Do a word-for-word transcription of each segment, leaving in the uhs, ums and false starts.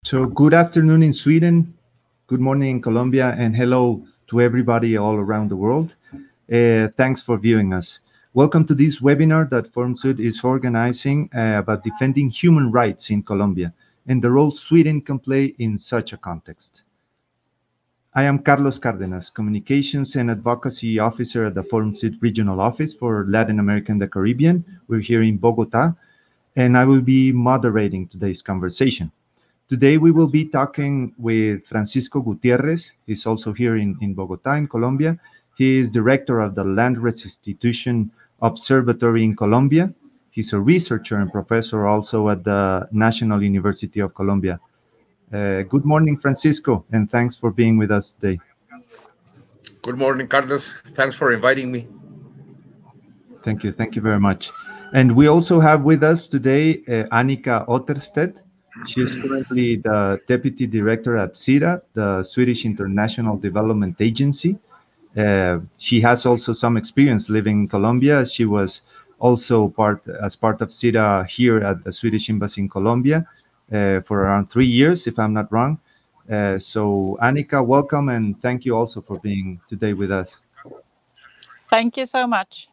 So, good afternoon in Sweden, good morning in Colombia, and hello to everybody all around the world. Uh, thanks for viewing us. Welcome to this webinar that FormSud is organizing uh, about defending human rights in Colombia and the role Sweden can play in such a context. I am Carlos Cárdenas, Communications and Advocacy Officer at the FormSud Regional Office for Latin America and the Caribbean. We're here in Bogota, and I will be moderating today's conversation. Today, we will be talking with Francisco Gutierrez. He's also here in, in Bogota, in Colombia. He is director of the Land Restitution Observatory in Colombia. He's a researcher and professor also at the National University of Colombia. Uh, good morning, Francisco, and thanks for being with us today. Good morning, Carlos. Thanks for inviting me. Thank you. Thank you very much. And we also have with us today uh, Annika Otterstedt. She is currently the Deputy Director at SIDA, the Swedish International Development Agency. Uh, she has also some experience living in Colombia. She was also part as part of SIDA here at the Swedish Embassy in Colombia uh, for around three years, if I'm not wrong. Uh, so, Annika, welcome, and thank you also for being today with us. Thank you so much.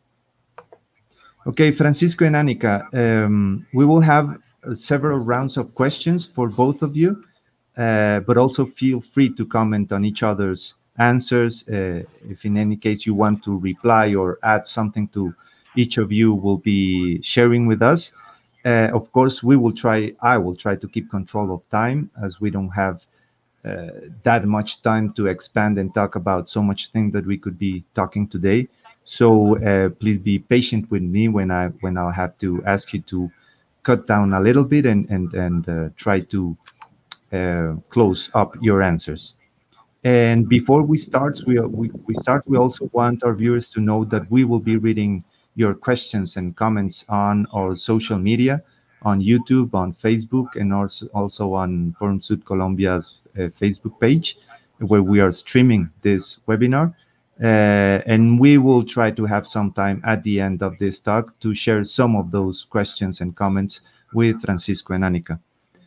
Okay, Francisco and Annika, um, we will have uh, several rounds of questions for both of you, uh, but also feel free to comment on each other's answers. Uh, if in any case you want to reply or add something to each of you will be sharing with us. Uh, of course, we will try, I will try to keep control of time as we don't have uh, that much time to expand and talk about so much thing that we could be talking today. So uh, please be patient with me when I when I'll have to ask you to cut down a little bit and and and uh, try to uh, close up your answers. And before we start, we, we we start. We also want our viewers to know that we will be reading your questions and comments on our social media, on YouTube, on Facebook, and also also on Forum Sud Colombia's uh, Facebook page, where we are streaming this webinar. Uh, and we will try to have some time at the end of this talk to share some of those questions and comments with Francisco and Annika.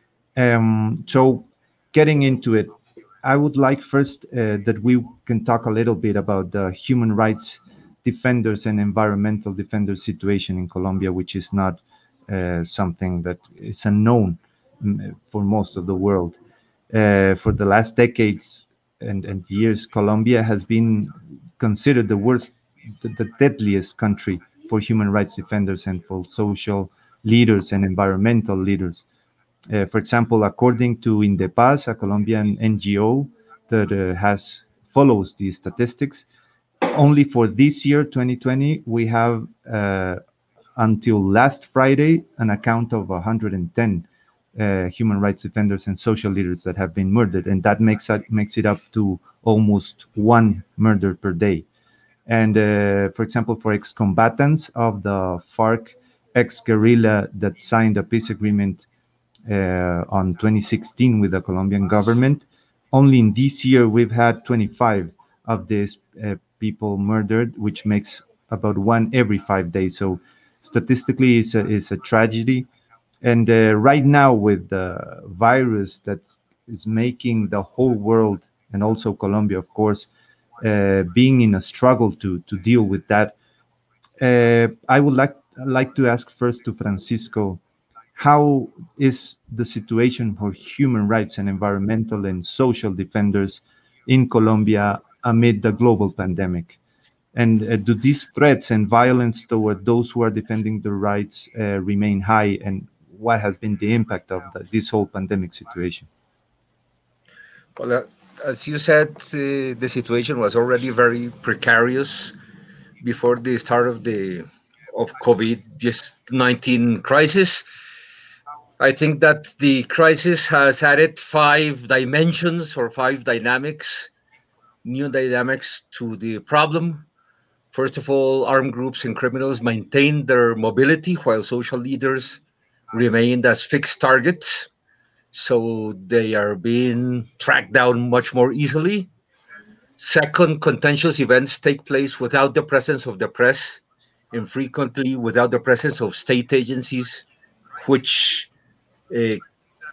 Um, so, getting into it, I would like first uh, that we can talk a little bit about the human rights defenders and environmental defenders situation in Colombia, which is not uh, something that is unknown mm, for most of the world. Uh, for the last decades and, and years, Colombia has been considered the worst, the, the deadliest country for human rights defenders and for social leaders and environmental leaders. Uh, for example, according to Indepaz, a Colombian N G O that uh, has follows these statistics, only for this year, twenty twenty, we have uh, until last Friday an account of one hundred ten uh, human rights defenders and social leaders that have been murdered, and that makes it makes it up to almost one murder per day. And uh, for example, for ex-combatants of the FARC ex-guerrilla that signed a peace agreement uh, on twenty sixteen with the Colombian government. Only in this year, we've had twenty-five of these uh, people murdered, which makes about one every five days. So statistically, it's a, it's a tragedy. And uh, right now, with the virus that is making the whole world and also Colombia, of course, uh, being in a struggle to to deal with that, uh, I would like like to ask first to Francisco, how is the situation for human rights and environmental and social defenders in Colombia amid the global pandemic? And uh, do these threats and violence toward those who are defending their rights uh, remain high? And what has been the impact of the, this whole pandemic situation? Well, uh, as you said, uh, the situation was already very precarious before the start of the of COVID nineteen crisis. I think that the crisis has added five dimensions or five dynamics, new dynamics to the problem. First of all, armed groups and criminals maintain their mobility while social leaders remained as fixed targets. So they are being tracked down much more easily. Second, contentious events take place without the presence of the press and frequently without the presence of state agencies, which uh,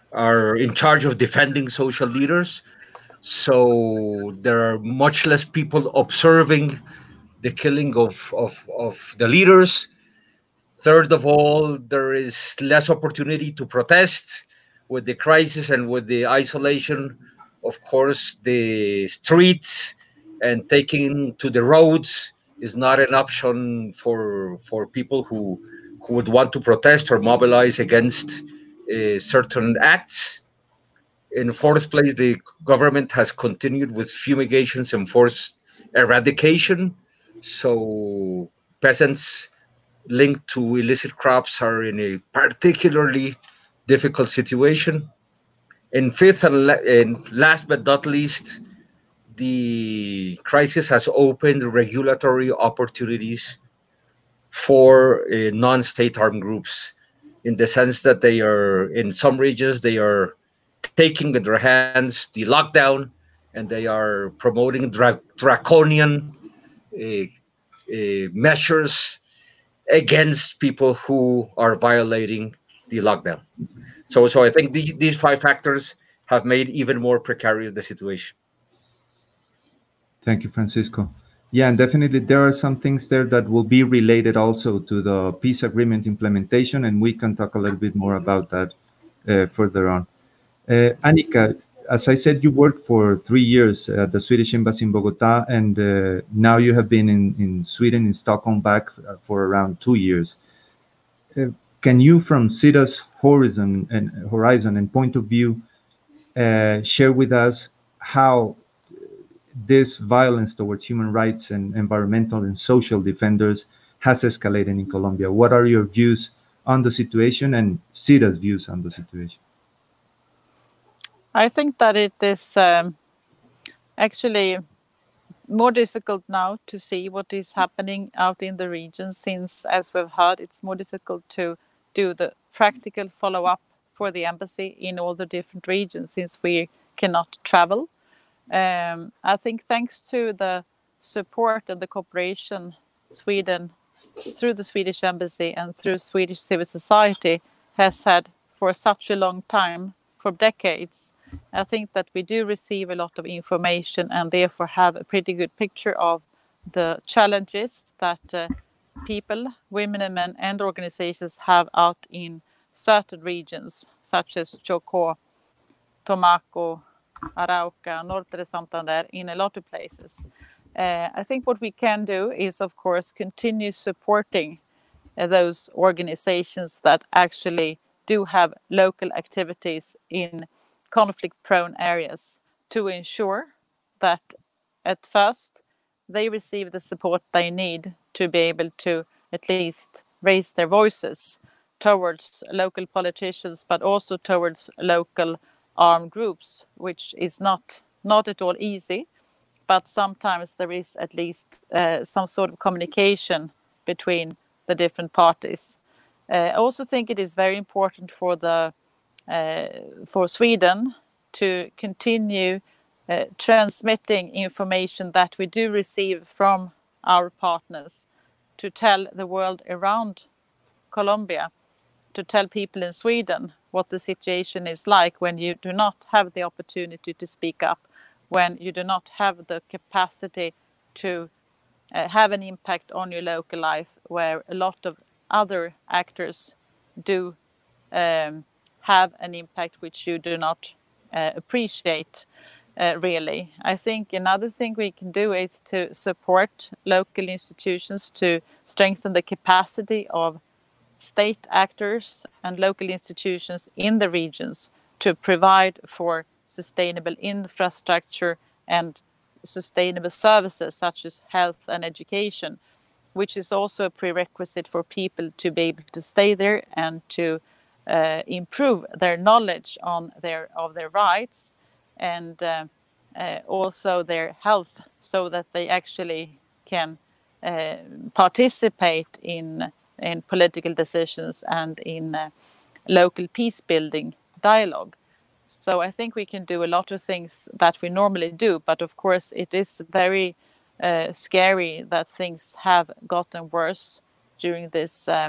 are in charge of defending social leaders. So there are much less people observing the killing of, of, of the leaders. Third of all, there is less opportunity to protest with the crisis and with the isolation. Of course, the streets and taking to the roads is not an option for for people who who would want to protest or mobilize against uh, certain acts. In fourth place, the government has continued with fumigations and forced eradication. So peasants linked to illicit crops are in a particularly difficult situation. In fifth and, la- and last but not least, the crisis has opened regulatory opportunities for uh, non-state armed groups, in the sense that they are, in some regions, they are taking in their hands the lockdown, and they are promoting dra- draconian uh, uh, measures against people who are violating the lockdown. So, so I think the, these five factors have made even more precarious the situation. Thank you, Francisco. Yeah, and definitely there are some things there that will be related also to the peace agreement implementation, and we can talk a little bit more about that uh, further on. Uh, Annika, as I said, you worked for three years at the Swedish Embassy in Bogota, and uh, now you have been in, in Sweden, in Stockholm, back uh, for around two years. Uh, can you, from SIDA's horizon and horizon and point of view, uh, share with us how this violence towards human rights and environmental and social defenders has escalated in Colombia? What are your views on the situation and SIDA's views on the situation? I think that it is um, actually more difficult now to see what is happening out in the region, since, as we've heard, it's more difficult to do the practical follow-up for the embassy in all the different regions, since we cannot travel. Um, I think thanks to the support and the cooperation Sweden, through the Swedish embassy and through Swedish civil society, has had for such a long time, for decades, I think that we do receive a lot of information and therefore have a pretty good picture of the challenges that uh, people, women and men, and organizations have out in certain regions, such as Chocó, Tomaco, Arauca, Norte de Santander, in a lot of places. Uh, I think what we can do is, of course, continue supporting uh, those organizations that actually do have local activities in conflict-prone areas, to ensure that at first they receive the support they need to be able to at least raise their voices towards local politicians, but also towards local armed groups, which is not not at all easy. But sometimes there is at least uh, some sort of communication between the different parties. Uh, I also think it is very important for the uh, for Sweden to continue uh, transmitting information that we do receive from our partners, to tell the world around Colombia, to tell people in Sweden what the situation is like when you do not have the opportunity to speak up, when you do not have the capacity to uh, have an impact on your local life, where a lot of other actors do um, have an impact which you do not uh, appreciate uh, really. I think another thing we can do is to support local institutions to strengthen the capacity of state actors and local institutions in the regions to provide for sustainable infrastructure and sustainable services such as health and education, which is also a prerequisite for people to be able to stay there and to uh, improve their knowledge on their of their rights, and uh, uh, also their health, so that they actually can uh, participate in in political decisions and in uh, local peace building dialogue. So I think we can do a lot of things that we normally do, but of course it is very uh, scary that things have gotten worse during this uh,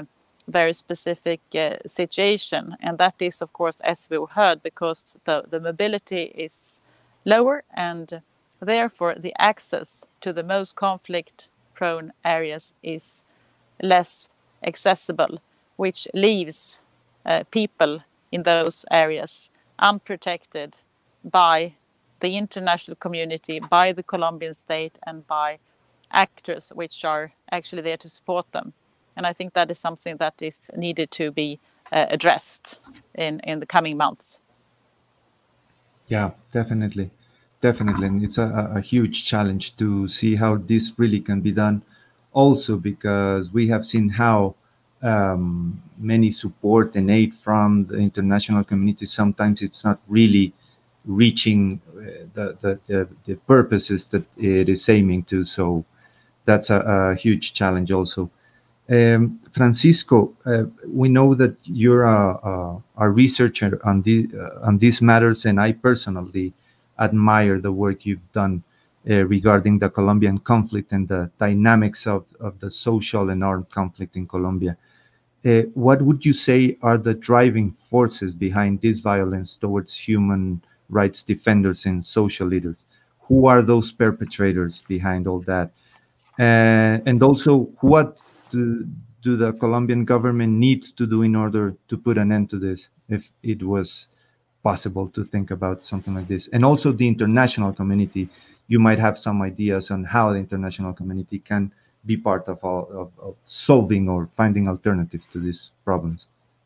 very specific uh, situation, and that is, of course, as we heard, because the, the mobility is lower, and therefore the access to the most conflict-prone areas is less accessible, which leaves uh, people in those areas unprotected by the international community, by the Colombian state, and by actors which are actually there to support them. And I think that is something that is needed to be uh, addressed in, in the coming months. Yeah, definitely. Definitely. And it's a, a huge challenge to see how this really can be done. Also, because we have seen how um, many support and aid from the international community, sometimes it's not really reaching uh, the, the, the, the purposes that it is aiming to. So that's a, a huge challenge also. Um, Francisco, uh, we know that you're a, a, a researcher on, the, uh, on these matters, and I personally admire the work you've done uh, regarding the Colombian conflict and the dynamics of, of the social and armed conflict in Colombia. Uh, what would you say are the driving forces behind this violence towards human rights defenders and social leaders? Who are those perpetrators behind all that? Uh, and also, what do, do the Colombian government needs to do in order to put an end to this, if it was possible to think about something like this? And also the international community, you might have some ideas on how the international community can be part of, all, of, of solving or finding alternatives to these problems.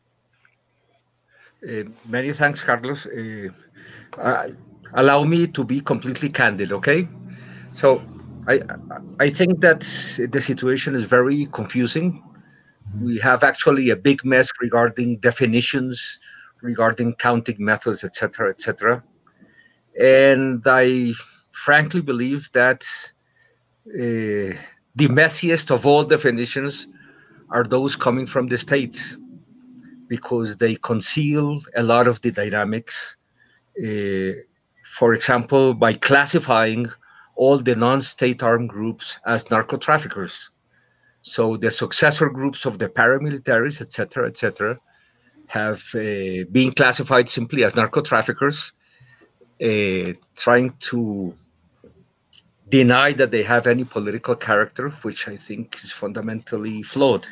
Uh, many thanks, Carlos. Uh, uh, allow me to be completely candid, okay? So I I think that the situation is very confusing. We have actually a big mess regarding definitions, regarding counting methods, et cetera, et cetera. And I frankly believe that uh, the messiest of all definitions are those coming from the states, because they conceal a lot of the dynamics. Uh, for example, by classifying all the non-state armed groups as narco traffickers. So the successor groups of the paramilitaries, et cetera, et cetera, have uh, been classified simply as narco traffickers, uh, trying to deny that they have any political character, which I think is fundamentally flawed.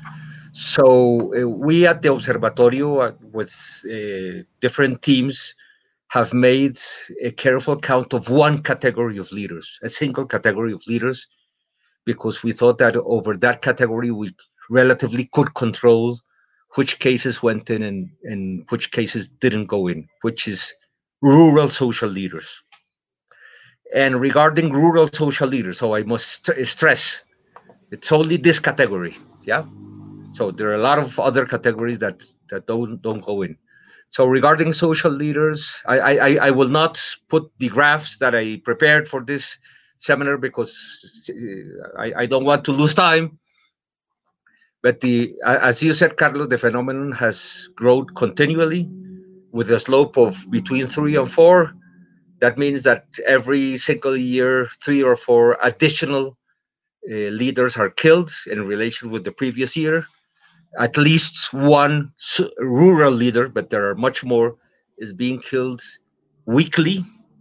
So uh, we at the Observatorio, uh, with uh, different teams, have made a careful count of one category of leaders, a single category of leaders, because we thought that over that category we relatively could control which cases went in and, and which cases didn't go in, which is rural social leaders. And regarding rural social leaders, so I must st- stress, it's only this category, yeah. So there are a lot of other categories that that don't don't go in. So regarding social leaders, I I, I will not put the graphs that I prepared for this seminar because I, I don't want to lose time. But the as you said, Carlos, the phenomenon has grown continually with a slope of between three and four. That means that every single year, three or four additional uh, leaders are killed in relation with the previous year. At least one rural leader, but there are much more, is being killed weekly.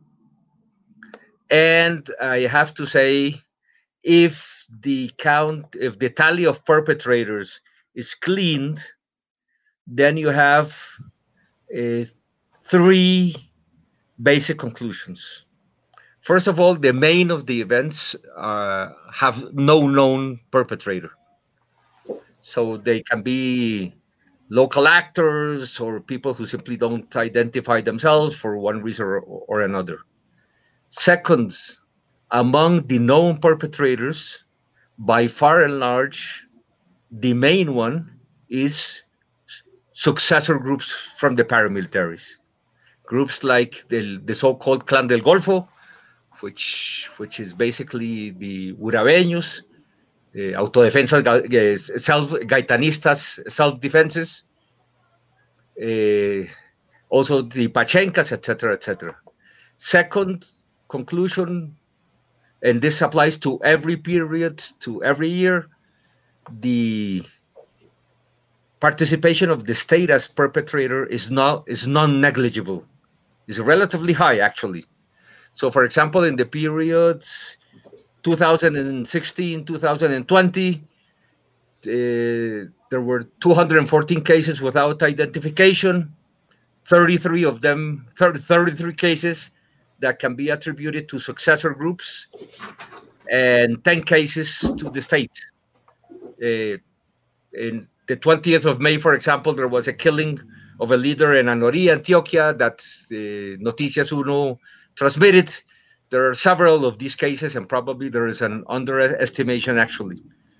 And I have to say, if the count, if the tally of perpetrators is cleaned, then you have uh, three basic conclusions. First of all, the main of the events uh, have no known perpetrator. So they can be local actors or people who simply don't identify themselves for one reason or, or another. Second, among the known perpetrators, by far and large, the main one is successor groups from the paramilitaries. Groups like the, the so-called Clan del Golfo, which which is basically the Urabeños, uh, autodefensas, uh, self gaitanistas, self-defenses, uh, also the Pachencas, et cetera, et cetera. Second conclusion, and this applies to every period, to every year, the participation of the state as perpetrator is not is non-negligible. It's relatively high, actually. So, for example, in the period two thousand sixteen, two thousand twenty, uh, there were two hundred fourteen cases without identification, thirty-three of them, thirty, thirty-three cases that can be attributed to successor groups, and ten cases to the state. Uh, in the twentieth of May, for example, there was a killing of a leader in Anorí, Antioquia, that uh, Noticias Uno transmitted. There are several of these cases, and probably there is an underestimation, actually.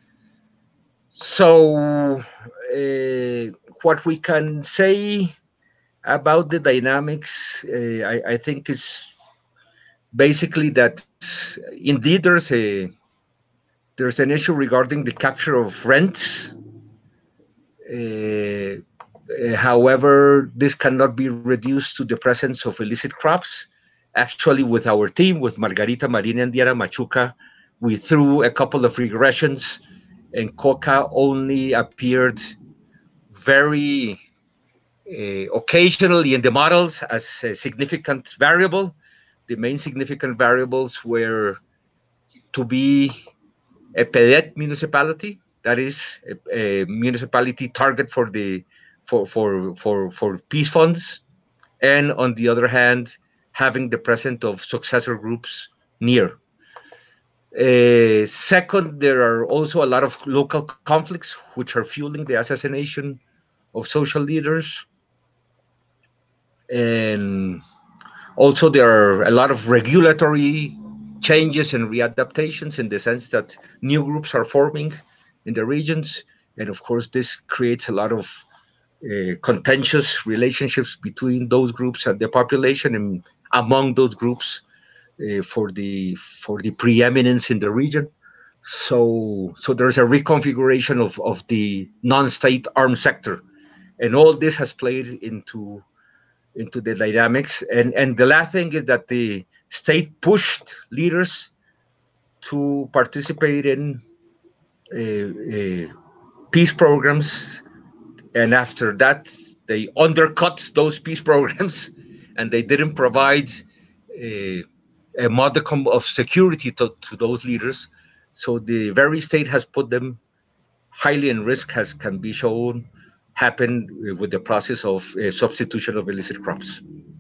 So, uh, what we can say about the dynamics, uh, I, I think, is basically that indeed there's a there's an issue regarding the capture of rents. Uh, uh, however, this cannot be reduced to the presence of illicit crops. Actually, with our team, with Margarita Marina and Diana Machuca, we threw a couple of regressions, and coca only appeared very uh, occasionally in the models as a significant variable. The main significant variables were to be a P E D municipality, that is a, a municipality target for the for for for for peace funds, and on the other hand, having the presence of successor groups near. Uh, second, there are also a lot of local conflicts which are fueling the assassination of social leaders, and also there are a lot of regulatory changes and readaptations, in the sense that new groups are forming in the regions, and of course this creates a lot of uh, contentious relationships between those groups and the population, and among those groups uh, for the for the preeminence in the region. So so there's a reconfiguration of of the non-state armed sector, and all this has played into into the dynamics. And and the last thing is that the state pushed leaders to participate in uh, uh, peace programs, and after that they undercut those peace programs, and they didn't provide uh, a modicum of security to, to those leaders. So the very state has put them highly in risk, as can be shown happen with the process of uh, substitution of illicit crops.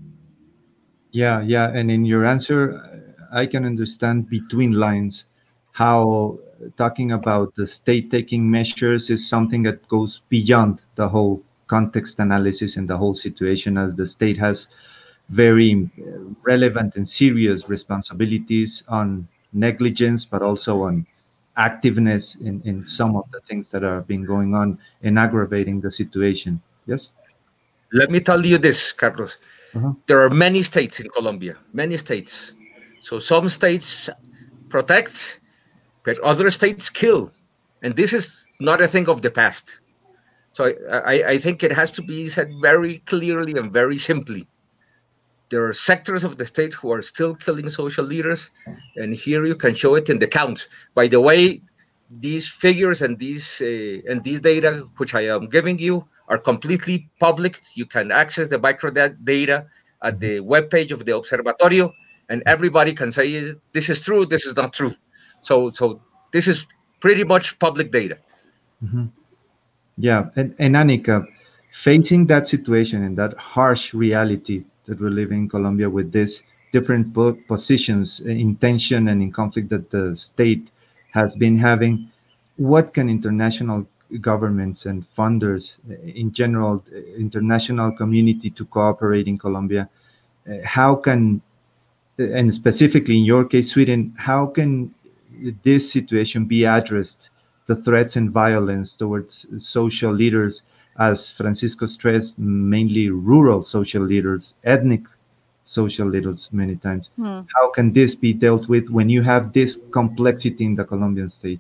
Yeah, yeah. And in your answer, I can understand between lines how talking about the state taking measures is something that goes beyond the whole context analysis and the whole situation, as the state has very relevant and serious responsibilities on negligence, but also on activeness in, in some of the things that are been going on and aggravating the situation. Yes? Let me tell you this, Carlos. Uh-huh. There are many states in Colombia, many states. So some states protect, but other states kill. And this is not a thing of the past. So I, I, I think it has to be said very clearly and very simply. There are sectors of the state who are still killing social leaders, and here you can show it in the counts. By the way, these figures and these uh, and these data which I am giving you are completely public. You can access the micro data at the webpage of the Observatorio, and everybody can say this is true, this is not true. So, so this is pretty much public data. Mm-hmm. Yeah, and, and Annika, facing that situation and that harsh reality that we're living in Colombia, with these different po- positions in tension and in conflict that the state has been having, what can international governments and funders, in general, international community, to cooperate in Colombia? Uh, how can, and specifically in your case, Sweden, how can this situation be addressed, the threats and violence towards social leaders, as Francisco stressed, mainly rural social leaders, ethnic social leaders many times? Hmm. How can this be dealt with when you have this complexity in the Colombian state?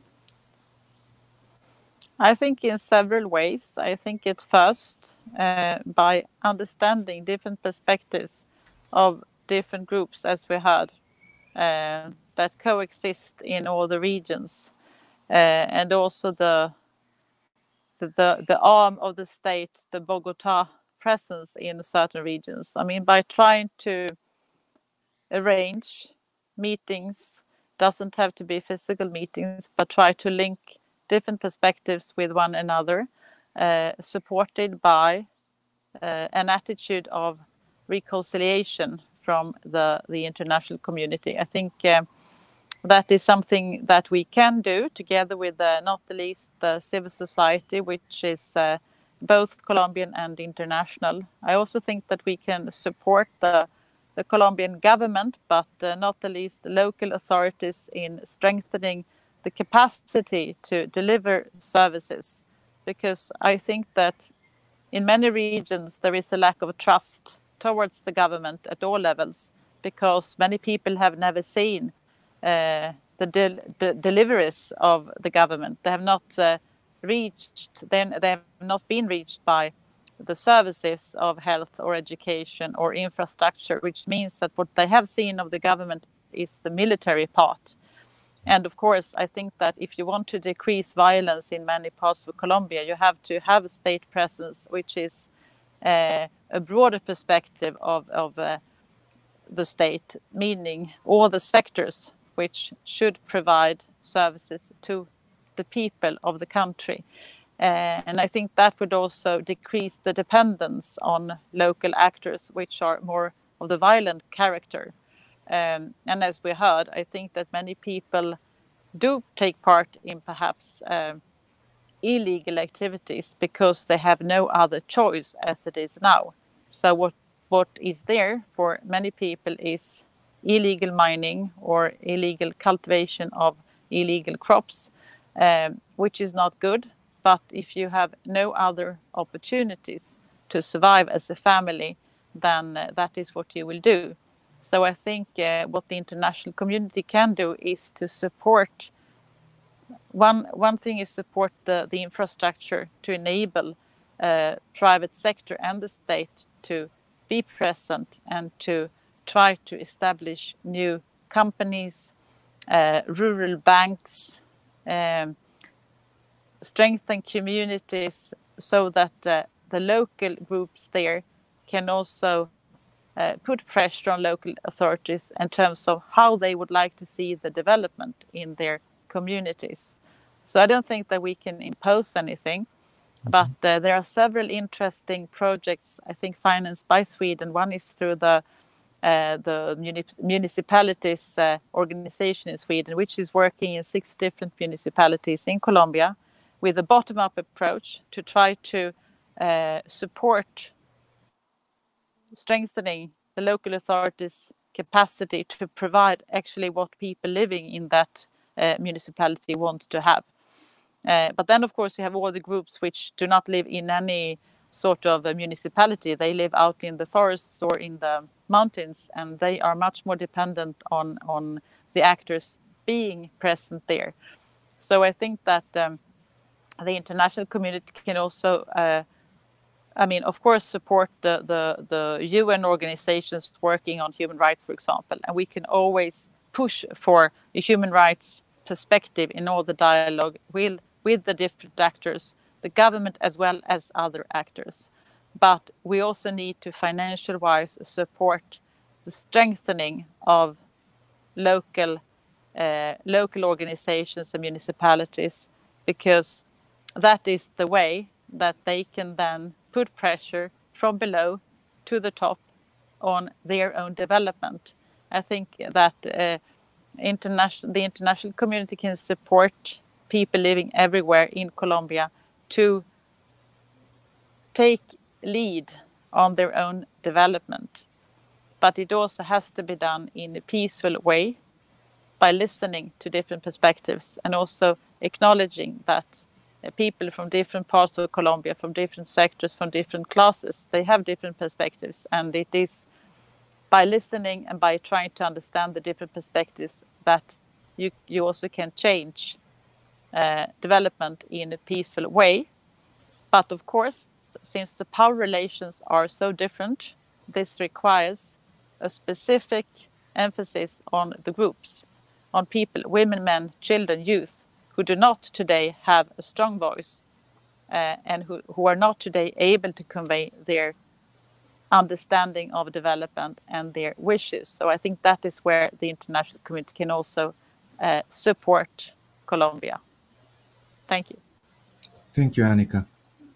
I think in several ways. I think it first uh, by understanding different perspectives of different groups, as we had, uh, that coexist in all the regions, uh, and also the the, the arm of the state, the Bogota presence in certain regions. I mean, by trying to arrange meetings, doesn't have to be physical meetings, but try to link different perspectives with one another, uh, supported by uh, an attitude of reconciliation from the, the international community. I think uh, that is something that we can do together with uh, not the least the civil society, which is uh, both Colombian and international. I also think that we can support the the Colombian government, but uh, not the least local authorities in strengthening the capacity to deliver services. Because I think that in many regions there is a lack of trust towards the government at all levels, because many people have never seen uh, the, del the deliveries of the government. They have not uh, reached, they, they have not been reached by the services of health or education or infrastructure, which means that what they have seen of the government is the military part. And of course, I think that if you want to decrease violence in many parts of Colombia, you have to have a state presence, which is uh, a broader perspective of, of uh, the state, meaning all the sectors which should provide services to the people of the country. Uh, and I think that would also decrease the dependence on local actors, which are more of the violent character. Um, and as we heard, I think that many people do take part in perhaps uh, illegal activities because they have no other choice as it is now. So what, what is there for many people is illegal mining or illegal cultivation of illegal crops, um, which is not good. But if you have no other opportunities to survive as a family, then uh, that is what you will do. So I think uh, what the international community can do is to support. One, one thing is support the, the infrastructure to enable uh, private sector and the state to be present and to try to establish new companies, uh, rural banks, um, strengthen communities so that uh, the local groups there can also uh, put pressure on local authorities in terms of how they would like to see the development in their communities. So I don't think that we can impose anything, but uh, there are several interesting projects, I think, financed by Sweden. One is through the uh, the munip municipalities uh, organization in Sweden, which is working in six different municipalities in Colombia, with a bottom-up approach to try to uh, support strengthening the local authorities' capacity to provide actually what people living in that uh, municipality want to have. Uh, but then, of course, you have all the groups which do not live in any sort of a municipality. They live out in the forests or in the mountains, and they are much more dependent on, on the actors being present there. So I think that um, the international community can also, uh, I mean, of course, support the, the, the U N organizations working on human rights, for example. And we can always push for a human rights perspective in all the dialogue with, with the different actors, the government as well as other actors. But we also need to financial-wise support the strengthening of local, uh, local organizations and municipalities, because that is the way that they can then put pressure from below to the top on their own development. I think that uh, international, the international community can support people living everywhere in Colombia to take lead on their own development. But it also has to be done in a peaceful way by listening to different perspectives and also acknowledging that people from different parts of Colombia, from different sectors, from different classes, they have different perspectives. And it is by listening and by trying to understand the different perspectives that you, you also can change uh, development in a peaceful way. But of course, since the power relations are so different, this requires a specific emphasis on the groups, on people, women, men, children, youth, who do not today have a strong voice. uh, and who, who are not today able to convey their understanding of development and their wishes. So I think that is where the international community can also uh, support Colombia. Thank you. Thank you, Annika.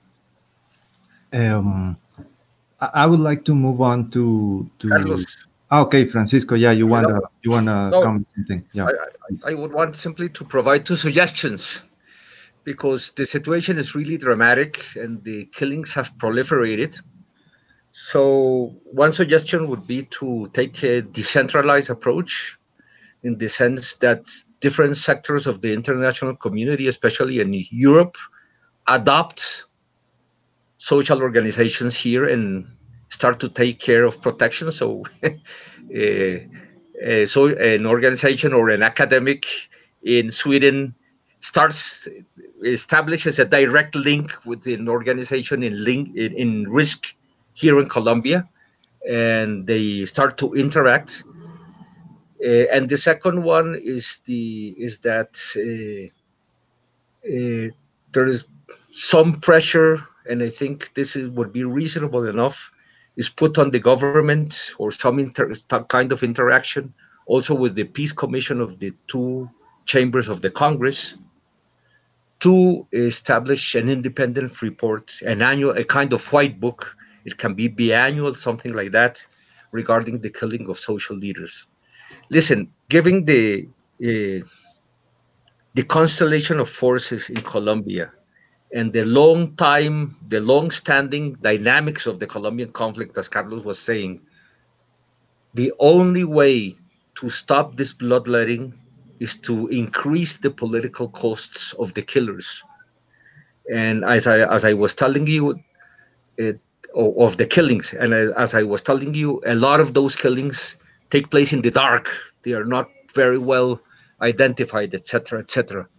Um, I, I would like to move on to to. Carlos. Ah, okay, Francisco. Yeah, you You wanna know, you wanna no, comment something? Yeah. I, I, I would want simply to provide two suggestions, because the situation is really dramatic and the killings have proliferated. So one suggestion would be to take a decentralized approach, in the sense that different sectors of the international community, especially in Europe, adopt social organizations here and start to take care of protection. So, uh, uh, so an organization or an academic in Sweden starts establishes a direct link with an organization in link in, in risk here in Colombia, and they start to interact. Uh, and the second one is the is that uh, uh, there is some pressure, and I think this is, would be reasonable enough, is put on the government, or some inter, kind of interaction, also with the Peace Commission of the two chambers of the Congress, to establish an independent report, an annual, a kind of white book. It can be biannual, something like that, regarding the killing of social leaders. Listen, given the uh, the constellation of forces in Colombia and the long time, the long standing dynamics of the Colombian conflict, as Carlos was saying, the only way to stop this bloodletting is to increase the political costs of the killers. And as I as I was telling you, it, of the killings, and as I was telling you, a lot of those killings take place in the dark. They are not very well identified, et cetera, et cetera.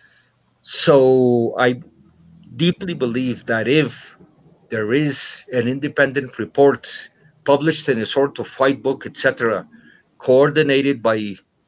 So I deeply believe that if there is an independent report published in a sort of white book, et cetera, coordinated by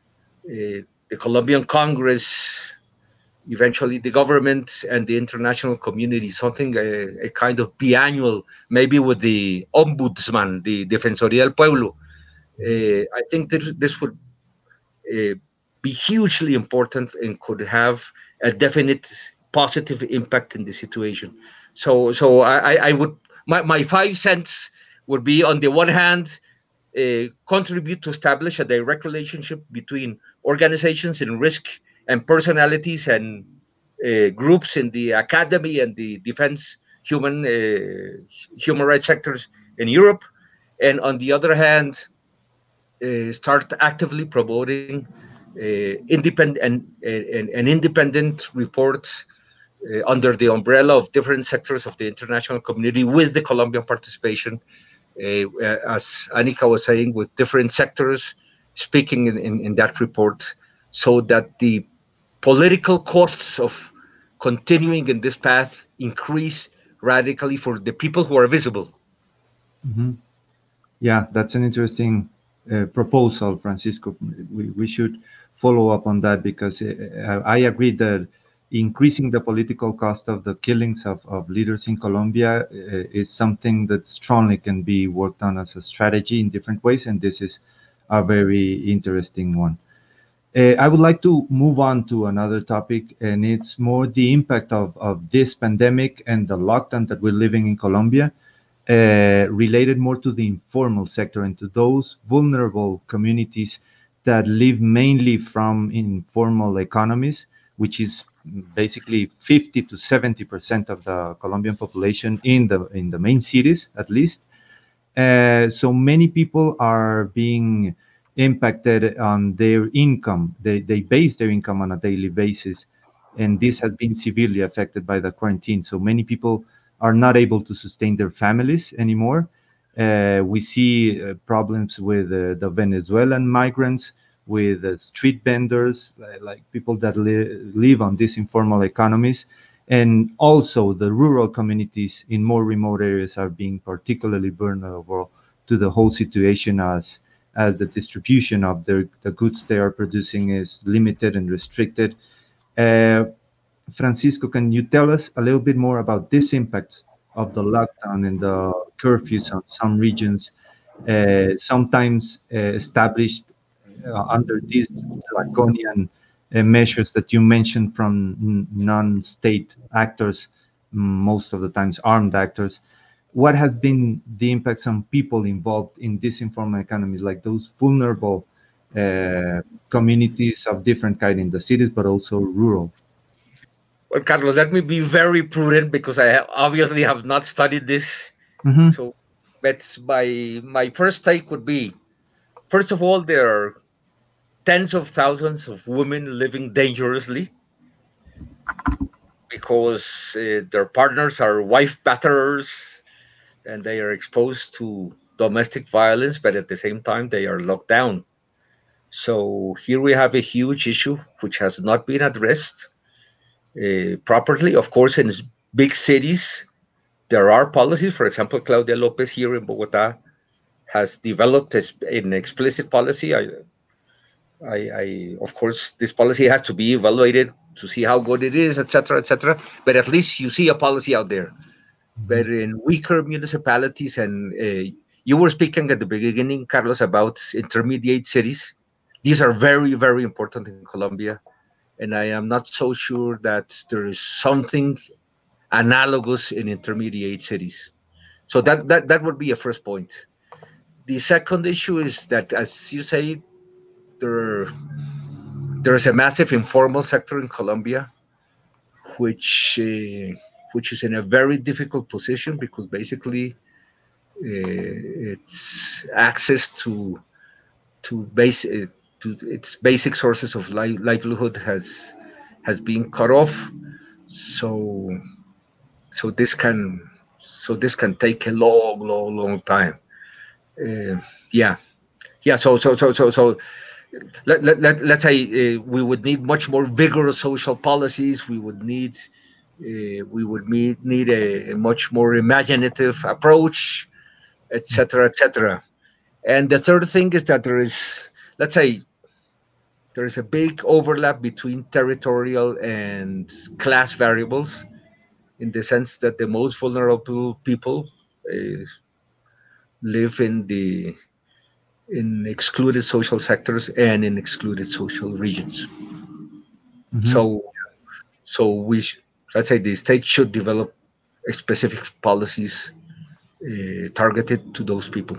uh, the Colombian Congress, eventually the government and the international community, something a, a kind of biannual, maybe with the ombudsman, the Defensoría del Pueblo. Uh, I think that this would uh, be hugely important and could have a definite positive impact in the situation. So, so I, I would my, my five cents would be, on the one hand, uh, contribute to establish a direct relationship between organizations in risk and personalities and uh, groups in the academy and the defense human uh, human rights sectors in Europe, and on the other hand, uh, start actively promoting uh, independent and, and, and independent reports uh, under the umbrella of different sectors of the international community, with the Colombian participation, uh, as Annika was saying, with different sectors speaking in, in, in that report, so that the political costs of continuing in this path increase radically for the people who are visible. Mm-hmm. Yeah, that's an interesting uh, proposal, Francisco. We, we should follow up on that, because uh, I agree that increasing the political cost of the killings of, of leaders in Colombia uh, is something that strongly can be worked on as a strategy in different ways, and this is a very interesting one. Uh, I would like to move on to another topic, and it's more the impact of, of this pandemic and the lockdown that we're living in Colombia, uh, related more to the informal sector and to those vulnerable communities that live mainly from informal economies, which is basically fifty to seventy percent of the Colombian population in the in the main cities, at least. Uh, so many people are being impacted on their income. They, they base their income on a daily basis. And this has been severely affected by the quarantine. So many people are not able to sustain their families anymore. Uh, we see uh, problems with uh, the Venezuelan migrants, with uh, street vendors, uh, like people that li- live on these informal economies. And also the rural communities in more remote areas are being particularly vulnerable to the whole situation, as as the distribution of their, the goods they are producing is limited and restricted. Uh, Francisco, can you tell us a little bit more about this impact of the lockdown and the curfews on some regions, uh, sometimes uh, established uh, under these draconian uh, measures that you mentioned from n- non-state actors, most of the times armed actors? What has been the impacts on people involved in these informal economies, like those vulnerable uh, communities of different kind in the cities, but also rural? Well, Carlos, let me be very prudent because I ha- obviously have not studied this. Hmm. So that's my my first take would be, first of all, there are tens of thousands of women living dangerously because uh, their partners are wife batterers and they are exposed to domestic violence, but at the same time they are locked down. So here we have a huge issue which has not been addressed uh, properly. Of course, in s- big cities, there are policies. For example, Claudia Lopez here in Bogota has developed a sp- an explicit policy. I, I, I, of course, this policy has to be evaluated to see how good it is, et cetera, et cetera. But at least you see a policy out there. But in weaker municipalities, and uh, you were speaking at the beginning, Carlos, about intermediate cities. These are very, very important in Colombia. And I am not so sure that there is something analogous in intermediate cities. So that, that, that would be a first point. The second issue is that, as you say, there, there is a massive informal sector in Colombia, which uh, which is in a very difficult position because basically uh, its access to to base uh, to its basic sources of li- livelihood has has been cut off. So so this can so this can take a long, long, long time. Uh, yeah, yeah. So so so so so let, let, let, let's say uh, we would need much more vigorous social policies. We would need uh, we would need, need a, a much more imaginative approach, et cetera, et cetera. And the third thing is that there is, let's say, there is a big overlap between territorial and class variables in the sense that the most vulnerable people uh, live in the in excluded social sectors and in excluded social regions. Hmm. So So we, sh- let's say, the state should develop specific policies uh, targeted to those people.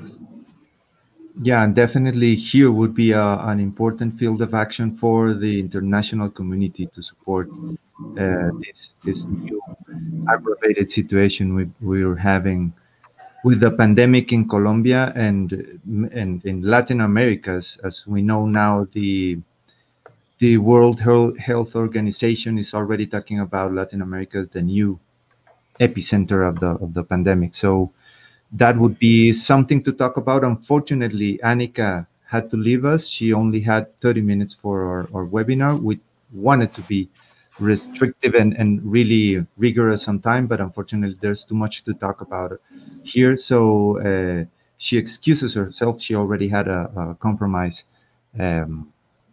Yeah, and definitely here would be a, an important field of action for the international community to support uh, this this new aggravated situation we we're having with the pandemic in Colombia and and in Latin America. As, as we know now, the the World Health Health Organization is already talking about Latin America as the new epicenter of the of the pandemic. So that would be something to talk about. Unfortunately, Annika had to leave us. She only had thirty minutes for our, our webinar. We wanted to be restrictive and, and really rigorous on time, but unfortunately, there's too much to talk about here. So uh, she excuses herself. She already had a, a compromise um,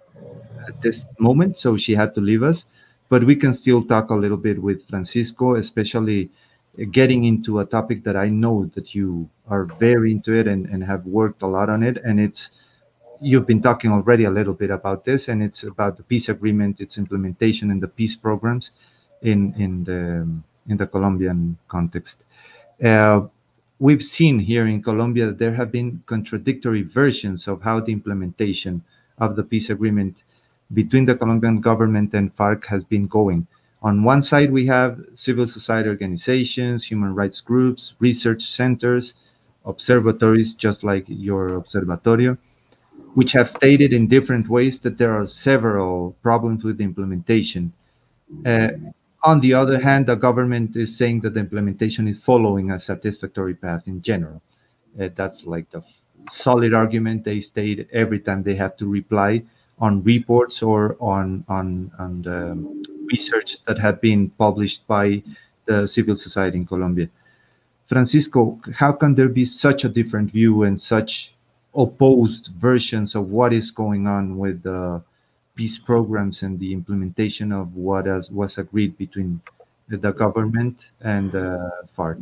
at this moment, so she had to leave us. But we can still talk a little bit with Francisco, especially uh, getting into a topic that I know that you are very into it and, and have worked a lot on it. And it's you've been talking already a little bit about this, and it's about the peace agreement, its implementation, and the peace programs in in the in the Colombian context. Uh, we've seen here in Colombia that there have been contradictory versions of how the implementation of the peace agreement between the Colombian government and FARC has been going. On one side, we have civil society organizations, human rights groups, research centers, observatories, just like your observatorio, which have stated in different ways that there are several problems with the implementation. Uh, on the other hand, the government is saying that the implementation is following a satisfactory path in general. Uh, that's like the solid argument they state every time they have to reply on reports or on on on the research that have been published by the civil society in Colombia. Francisco, how can there be such a different view and such opposed versions of what is going on with the peace programs and the implementation of what has, was agreed between the, the government and the FARC?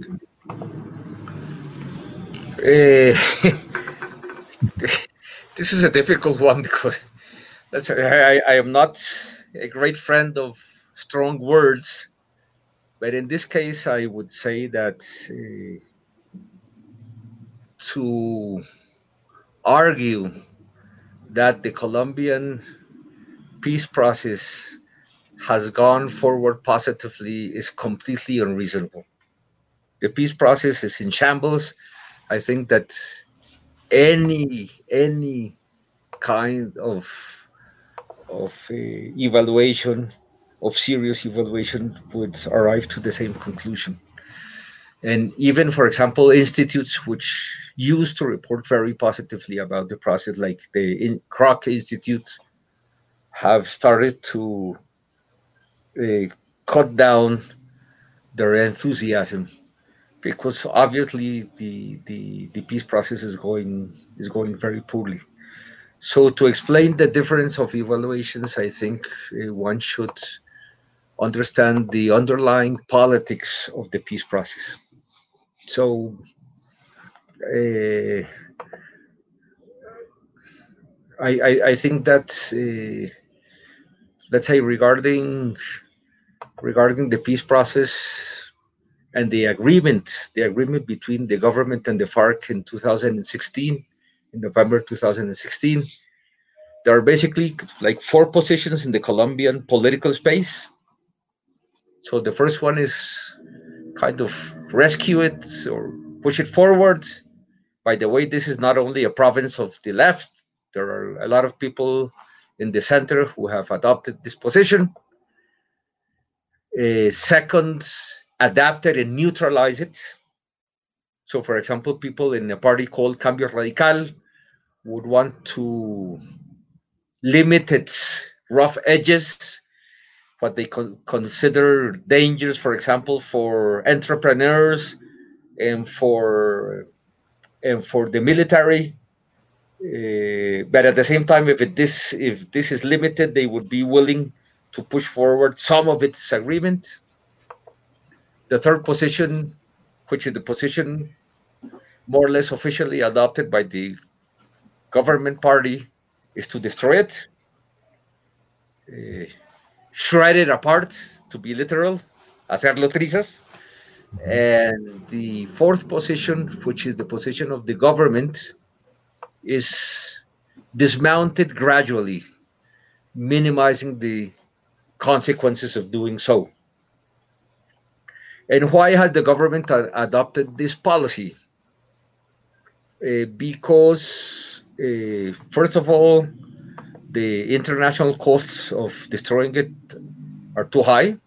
Uh, this is a difficult one because that's I, I am not a great friend of strong words, but in this case, I would say that uh, to argue that the Colombian peace process has gone forward positively is completely unreasonable. The peace process is in shambles. I think that any any kind of of uh, evaluation of serious evaluation would arrive to the same conclusion. And even, for example, institutes which used to report very positively about the process, like the in, Kroc Institute, have started to uh, cut down their enthusiasm because obviously the, the the peace process is going is going very poorly. So to explain the difference of evaluations, I think uh, one should understand the underlying politics of the peace process. So uh, I, I I think that uh, let's say regarding regarding the peace process and the agreement, the agreement between the government and the FARC in two thousand sixteen, in November two thousand sixteen, there are basically like four positions in the Colombian political space. So the first one is kind of rescue it or push it forward. By the way, this is not only a province of the left. There are a lot of people in the center who have adopted this position. Uh, second, adapt it and neutralize it. So, for example, people in a party called Cambio Radical would want to limit its rough edges, what they con- consider dangers, for example, for entrepreneurs and for and for the military. Uh, but at the same time, if it, this if this is limited, they would be willing to push forward some of its agreement. The third position, which is the position more or less officially adopted by the government party, is to destroy it, uh, shred it apart, to be literal, hacerlo trizas. Mhm. And the fourth position, which is the position of the government, is dismounted gradually, minimizing the consequences of doing so. And why has the government a- adopted this policy? Uh, because, uh, first of all, the international costs of destroying it are too high,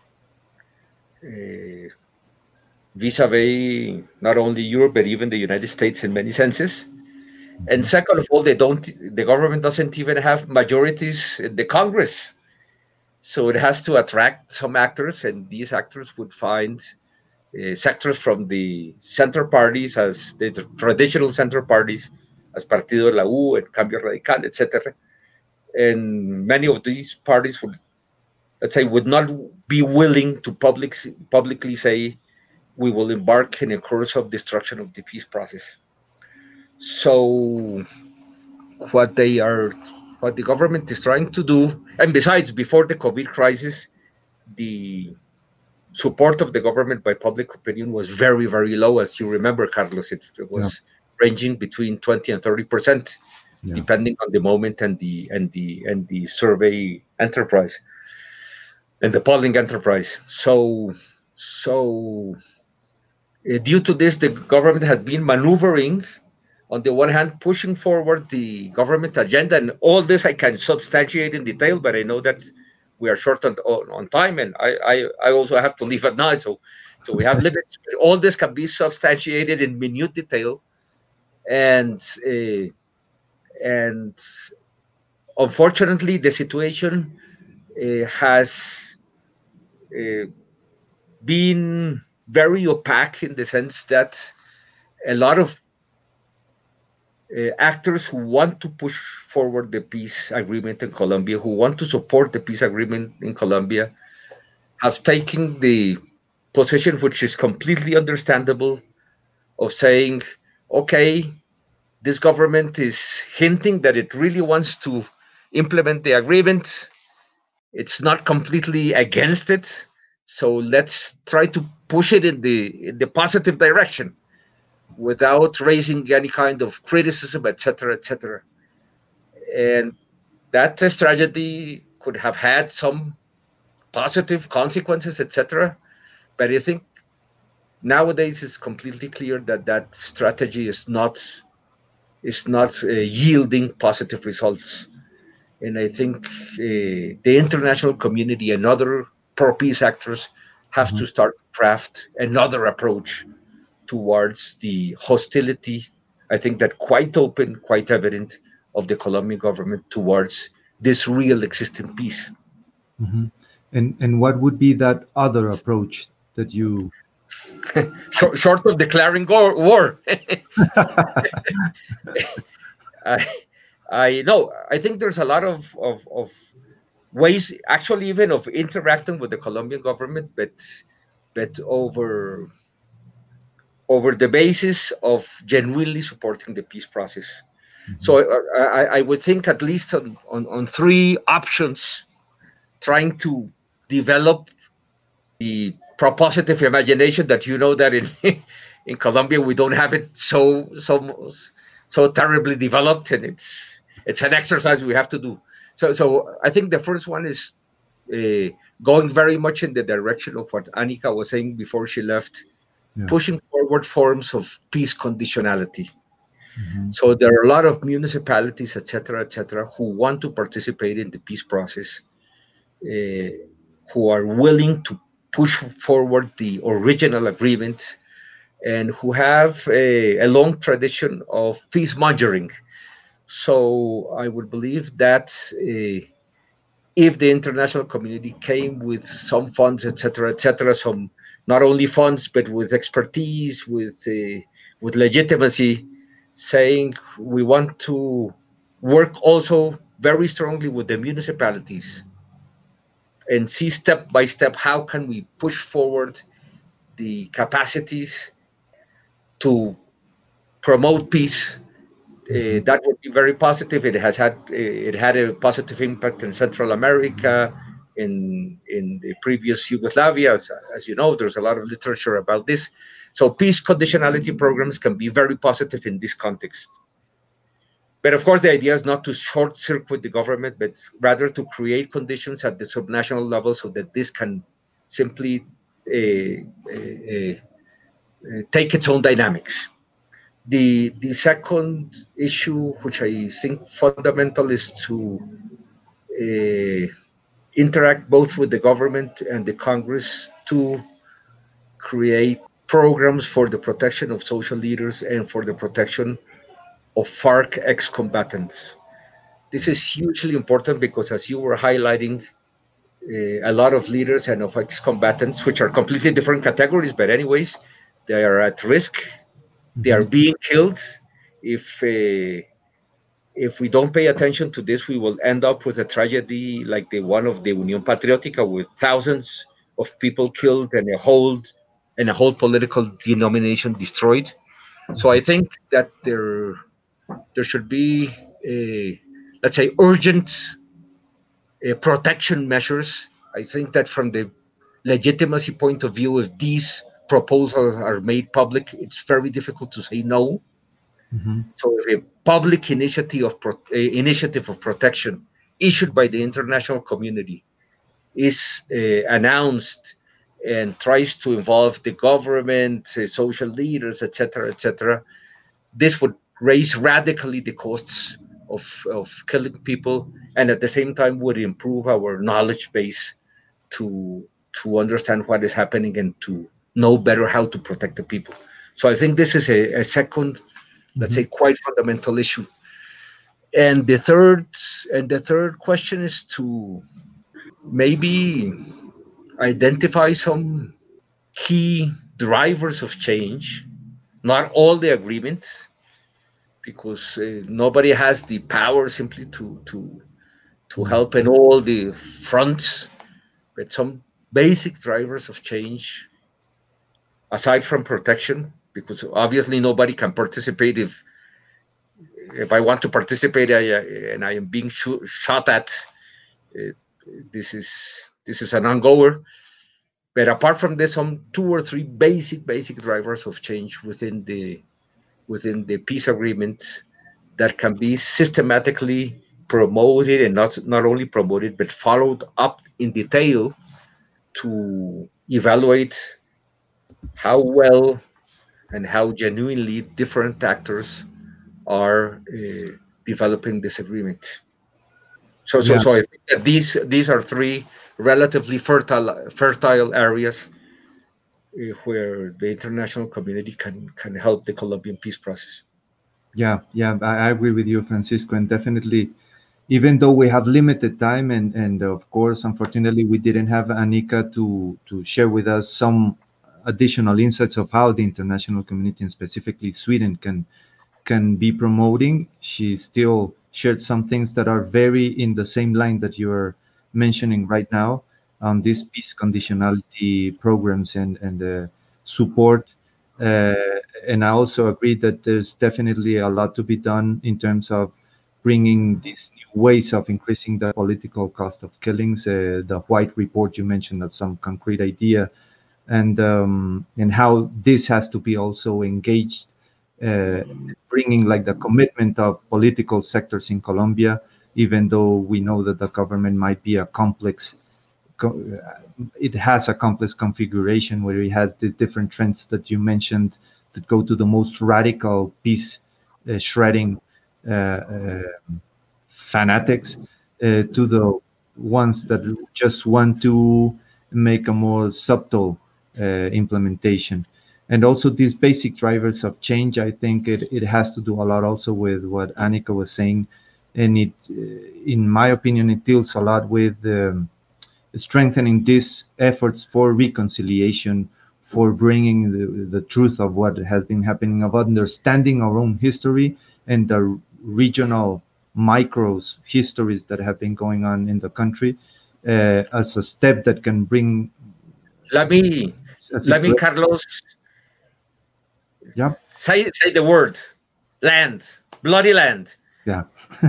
uh, vis-a-vis not only Europe but even the United States in many senses. And Mhm. second of all, they don't. The government doesn't even have majorities in the Congress, so it has to attract some actors, and these actors would find uh, sectors from the center parties, as the tr- traditional center parties, as Partido de la U and Cambio Radical, et cetera. And many of these parties would, let's say, would not be willing to public, publicly say we will embark in a course of destruction of the peace process. So what they are, what the government is trying to do, and besides, before the COVID crisis, the support of the government by public opinion was very, very low. As you remember, Carlos, it, it Yeah, was ranging between twenty and thirty percent, yeah. depending on the moment and the and the and the survey enterprise and the polling enterprise. So, so uh, due to this, the government has been maneuvering, on the one hand, pushing forward the government agenda, and all this I can substantiate in detail, but I know that we are short on, on time, and I, I, I also have to leave at night, so so we have limits. But all this can be substantiated in minute detail, and uh, and unfortunately, the situation uh, has uh, been very opaque in the sense that a lot of uh, actors who want to push forward the peace agreement in Colombia, who want to support the peace agreement in Colombia, have taken the position, which is completely understandable, of saying, okay, this government is hinting that it really wants to implement the agreement. It's not completely against it. So let's try to push it in the in the positive direction without raising any kind of criticism, et cetera, et cetera. And that strategy could have had some positive consequences, et cetera. But I think nowadays it's completely clear that that strategy is not is not uh, yielding positive results. And I think uh, the international community and other pro-peace actors have Mhm. to start craft another approach towards the hostility. I think that quite open, quite evident of the Colombian government towards this real existing peace. Mhm. And and what would be that other approach that you? Short, short of declaring war, war. I, I know. I think there's a lot of, of, of ways, actually, even of interacting with the Colombian government, but but over over the basis of genuinely supporting the peace process. Mhm. So uh, I, I would think at least on, on, on three options, trying to develop the propositive imagination that you know that in in Colombia we don't have it so so so terribly developed, and it's it's an exercise we have to do. So so I think the first one is uh, going very much in the direction of what Anika was saying before she left, Yeah. pushing forward forms of peace conditionality. Mhm. So there are a lot of municipalities, et cetera, et cetera, who want to participate in the peace process, uh, who are willing to push forward the original agreement, and who have a, a long tradition of peace mongering. So I would believe that uh, if the international community came with some funds, et cetera, et cetera, some not only funds but with expertise, with uh, with legitimacy, saying we want to work also very strongly with the municipalities and see step by step how can we push forward the capacities to promote peace. Uh, Mhm. that would be very positive. It has had it had a positive impact in Central America, in in the previous Yugoslavia. As, as you know, there's a lot of literature about this. So peace conditionality programs can be very positive in this context. But of course, the idea is not to short circuit the government, but rather to create conditions at the subnational level so that this can simply uh, uh, uh, take its own dynamics. The the second issue, which I think fundamental, is to uh, interact both with the government and the Congress to create programs for the protection of social leaders and for the protection of FARC ex-combatants. This is hugely important because, as you were highlighting, uh, a lot of leaders and of ex-combatants, which are completely different categories, but anyways, they are at risk. They are Mhm. being killed. If uh, if we don't pay attention to this, we will end up with a tragedy like the one of the Unión Patriótica, with thousands of people killed and a whole and a whole political denomination destroyed. So I think that there there should be a, let's say, urgent uh, protection measures. I think that from the legitimacy point of view, if these proposals are made public, it's very difficult to say no. Mhm. So if a public initiative of pro- uh, initiative of protection issued by the international community is uh, announced and tries to involve the government, uh, social leaders, et cetera, et cetera, this would raise radically the costs of, of killing people, and at the same time would improve our knowledge base to to understand what is happening and to know better how to protect the people. So I think this is a, a second, let's say, Mhm. quite fundamental issue. And the third and the third question is to maybe identify some key drivers of change, not all the agreements, because uh, nobody has the power simply to to to Mm. help in all the fronts, but some basic drivers of change aside from protection, because obviously nobody can participate if if I want to participate I, uh, and I am being shoo- shot at. Uh, this is this is an ongoer. But apart from this, some two or three basic basic drivers of change within the within the peace agreement that can be systematically promoted, and not not only promoted but followed up in detail to evaluate how well and how genuinely different actors are uh, developing this agreement. So, so, Yeah, so I think that these these are three relatively fertile fertile areas uh, where the international community can can help the Colombian peace process. yeah, yeah. I, I agree with you, Francisco, and definitely, even though we have limited time, and and of course, unfortunately, we didn't have Anika to to share with us some additional insights of how the international community, and specifically Sweden, can can be promoting. She still shared some things that are very in the same line that you are mentioning right now on these peace conditionality programs and and the support. Uh, and I also agree that there's definitely a lot to be done in terms of bringing these new ways of increasing the political cost of killings. Uh, the White Report you mentioned, that's some concrete idea, and um, and how this has to be also engaged, uh, bringing like the commitment of political sectors in Colombia, even though we know that the government might be a complex, co- uh, it has a complex configuration where it has the different trends that you mentioned that go to the most radical peace uh, shredding uh, uh, fanatics, uh, to the ones that just want to make a more subtle uh, implementation. And also these basic drivers of change, I think it, it has to do a lot also with what Annika was saying. And it, uh, in my opinion, it deals a lot with um, strengthening these efforts for reconciliation, for bringing the, the truth of what has been happening, of understanding our own history and the regional micros histories that have been going on in the country, uh, as a step that can bring Let me a let me, situation. Carlos, Yeah, say say the word land, bloody land. yeah,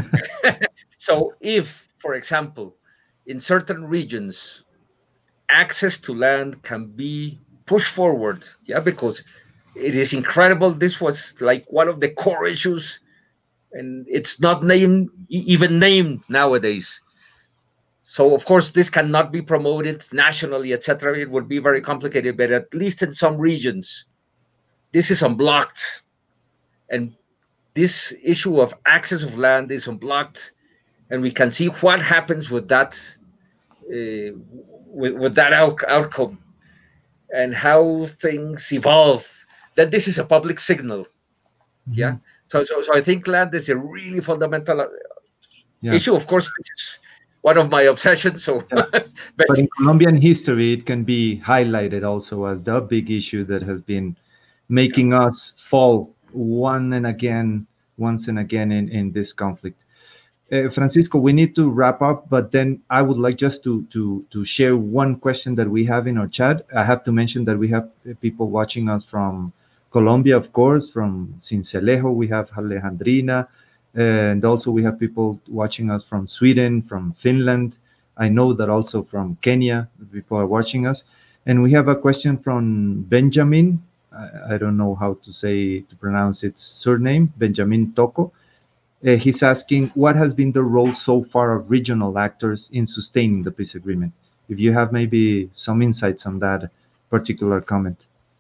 So if, for example, in certain regions access to land can be pushed forward, yeah, because it is incredible. This was like one of the core issues, and it's not named e- even named nowadays. So of course this cannot be promoted nationally, et cetera. It would be very complicated, but at least in some regions, this is unblocked, and this issue of access of land is unblocked, and we can see what happens with that uh, with, with that out- outcome, and how things evolve. That this is a public signal, yeah. mhm, So, so, so I think land is a really fundamental uh, yeah, issue. Of course, this is one of my obsessions. So, yeah. but But in Colombian history, it can be highlighted also as the big issue that has been making us fall one and again, once and again in, in this conflict. Uh, Francisco, we need to wrap up, but then I would like just to to to share one question that we have in our chat. I have to mention that we have uh, people watching us from Colombia, of course, from Cincelejo. We have Alejandrina, and also we have people watching us from Sweden, from Finland. I know that also from Kenya, people are watching us. And we have a question from Benjamin. I, I don't know how to say to pronounce its surname, Benjamin Toko. Uh, he's asking what has been the role so far of regional actors in sustaining the peace agreement. If you have maybe some insights on that particular comment.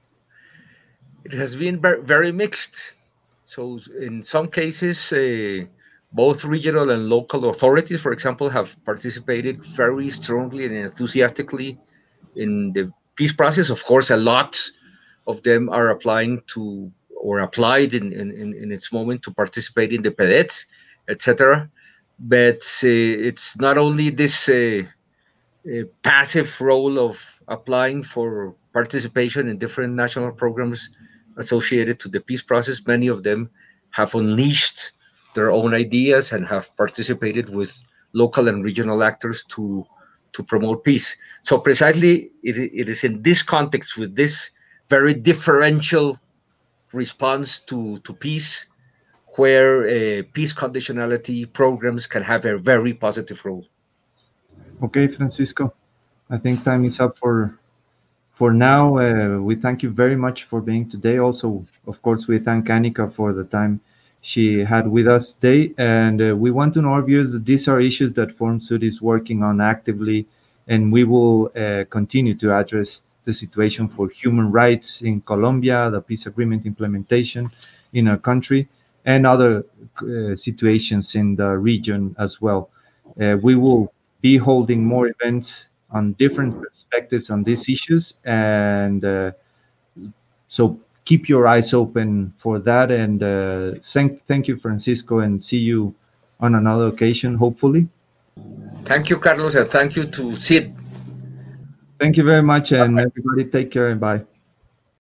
it has been ver- very mixed. So, in some cases, uh, both regional and local authorities, for example, have participated very strongly and enthusiastically in the peace process. Of course, a lot of them are applying to or applied in, in, in in its moment to participate in the P E D E T, et cetera. But uh, it's not only this uh, uh, passive role of applying for participation in different national programs associated to the peace process. Many of them have unleashed their own ideas and have participated with local and regional actors to to promote peace. So precisely it, it is in this context, with this very differential response to, to peace, where uh, peace conditionality programs can have a very positive role. Okay, Francisco, I think time is up for for now. Uh, we thank you very much for being today. Also, of course, we thank Annika for the time she had with us today. And uh, we want to know our viewers that these are issues that Forum Sud is working on actively, and we will uh, continue to address the situation for human rights in Colombia, the peace agreement implementation in our country, and other uh, situations in the region as well. Uh, we will be holding more events on different perspectives on these issues, and uh, so keep your eyes open for that. And uh, thank thank you, Francisco, and see you on another occasion, hopefully. Thank you, Carlos, and thank you to Sid. Thank you very much, and everybody take care and bye.